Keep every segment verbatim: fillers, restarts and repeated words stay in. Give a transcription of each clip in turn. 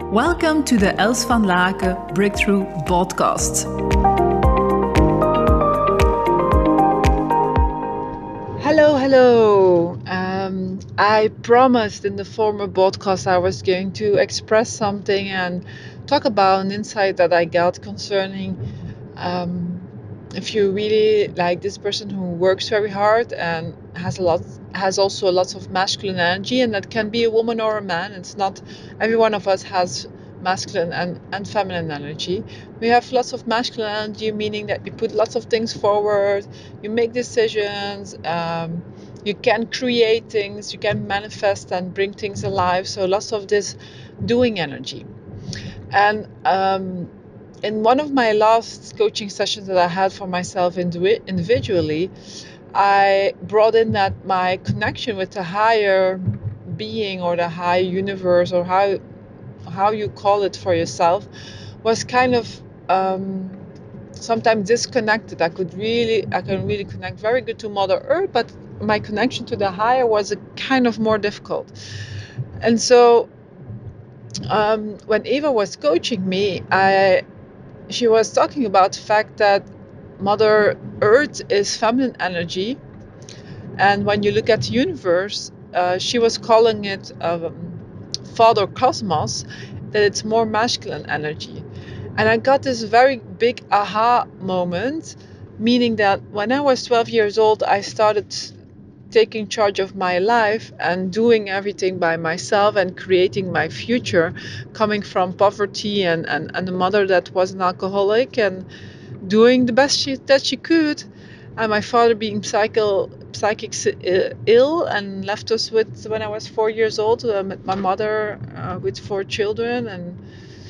Welcome to the Els van Laken Breakthrough Podcast. Hello, hello. Um, I promised in the former podcast I was going to express something and talk about an insight that I got concerning um, if you really like this person who works very hard and has a lot, has also lots of masculine energy, and that can be a woman or a man. It's not every one of us has masculine and, and feminine energy. We have lots of masculine energy, meaning that you put lots of things forward, you make decisions, um, you can create things, you can manifest and bring things alive. So lots of this doing energy. And um, in one of my last coaching sessions that I had for myself indiv- individually, I brought in that my connection with the higher being or the higher universe, or how how you call it for yourself, was kind of um, sometimes disconnected. I could really, I can really connect very good to Mother Earth, but my connection to the higher was a kind of more difficult. And so um, when Eva was coaching me, I she was talking about the fact that Mother Earth is feminine energy, and when you look at the universe, uh, she was calling it um, Father Cosmos, that it's more masculine energy. And I got this very big aha moment, meaning that when I was twelve years old, I started taking charge of my life and doing everything by myself and creating my future, coming from poverty and, and, and a mother that was an alcoholic and doing the best she, that she could. And my father being psycho, psychic uh, ill and left us with, when I was four years old, uh, met my mother uh, with four children. And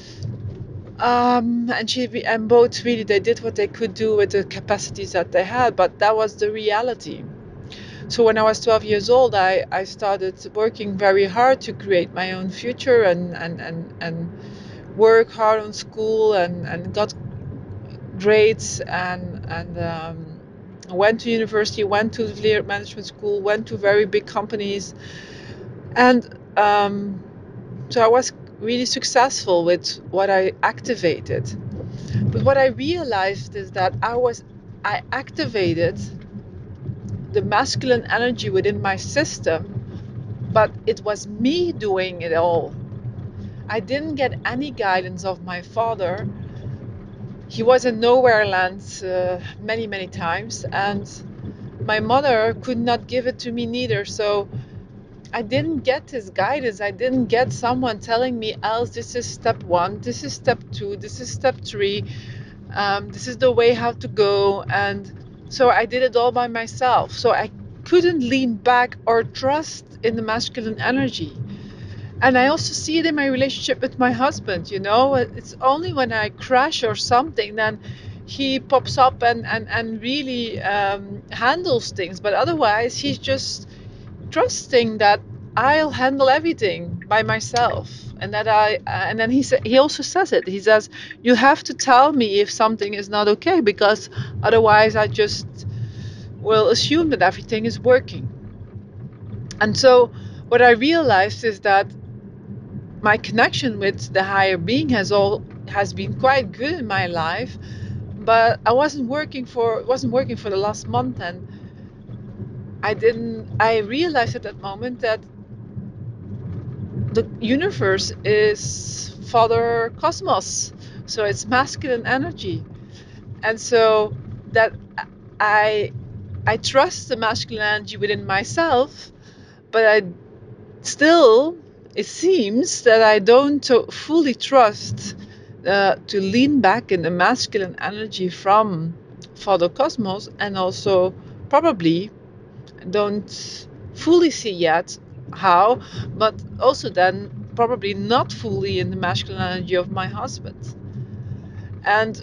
um, and she and both really, they did what they could do with the capacities that they had, but that was the reality. So when I was twelve years old, I, I started working very hard to create my own future and, and, and, and work hard on school and, and got grades and, and um, went to university, went to the management school, went to very big companies. And um, so I was really successful with what I activated. But what I realized is that I was, I activated the masculine energy within my system, but it was me doing it all. I didn't get any guidance of my father. He was in nowhere land uh, many, many times, and my mother could not give it to me neither. So I didn't get his guidance. I didn't get someone telling me, Els, this is step one, this is step two, this is step three, um, this is the way how to go. And so I did it all by myself. So I couldn't lean back or trust in the masculine energy. And I also see it in my relationship with my husband, you know. It's only when I crash or something, then he pops up and, and, and really um, handles things. But otherwise, he's just trusting that I'll handle everything by myself. And that I, uh, and then he sa- he also says it. He says, you have to tell me if something is not okay, because otherwise I just will assume that everything is working. And so what I realized is that my connection with the higher being has all has been quite good in my life, but I wasn't working for wasn't working for the last month, and I didn't I realized at that moment that the universe is Father Cosmos, so it's masculine energy. And so that I I trust the masculine energy within myself, but I still, it seems that I don't fully trust uh, to lean back in the masculine energy from Father Cosmos, and also probably don't fully see yet how, but also then probably not fully in the masculine energy of my husband. And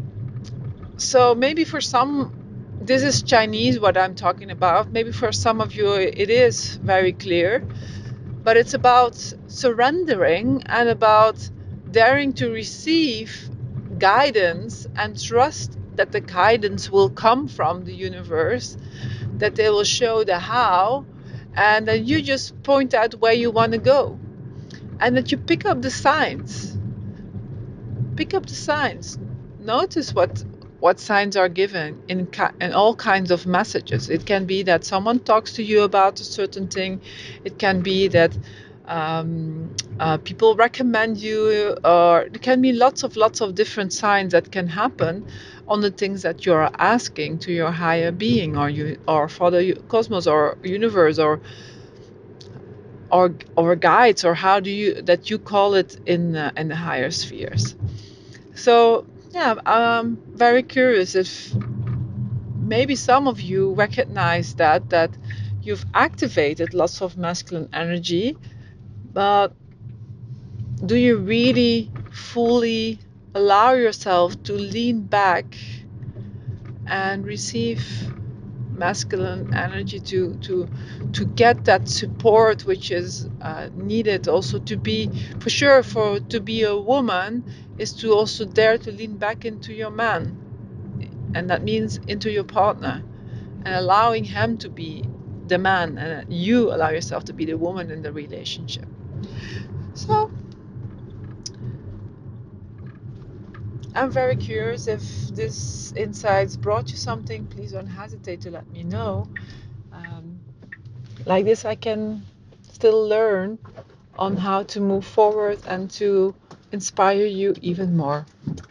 so maybe for some, this is Chinese what I'm talking about. Maybe for some of you it is very clear. But it's about surrendering and about daring to receive guidance and trust that the guidance will come from the universe, that they will show the how, and then you just point out where you want to go. and that you pick up the signs. Pick up the signs. Notice what what signs are given in in all kinds of messages. It can be that someone talks to you about a certain thing. It can be that um, uh, people recommend you, or it can be lots of lots of different signs that can happen on the things that you're asking to your higher being, or you, or for the cosmos, or universe, or or or guides, or how do you that you call it in uh, in the higher spheres. So yeah, I'm very curious if maybe some of you recognize that that you've activated lots of masculine energy, but do you really fully allow yourself to lean back and receive masculine energy, to to to get that support which is uh, needed also to be, for sure, for to be a woman, is to also dare to lean back into your man, and that means into your partner, and allowing him to be the man, and you allow yourself to be the woman in the relationship. So I'm very curious if this insights brought you something. Please don't hesitate to let me know. Um, like this, I can still learn on how to move forward and to inspire you even more.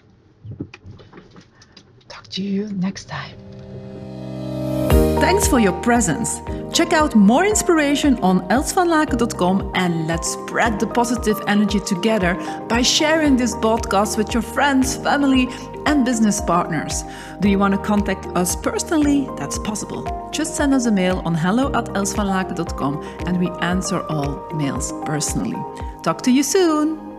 Talk to you next time. Thanks for your presence. Check out more inspiration on els van laken dot com and let's spread the positive energy together by sharing this podcast with your friends, family, and business partners. Do you want to contact us personally? That's possible. Just send us a mail on hello at els van laken dot com and we answer all mails personally. Talk to you soon.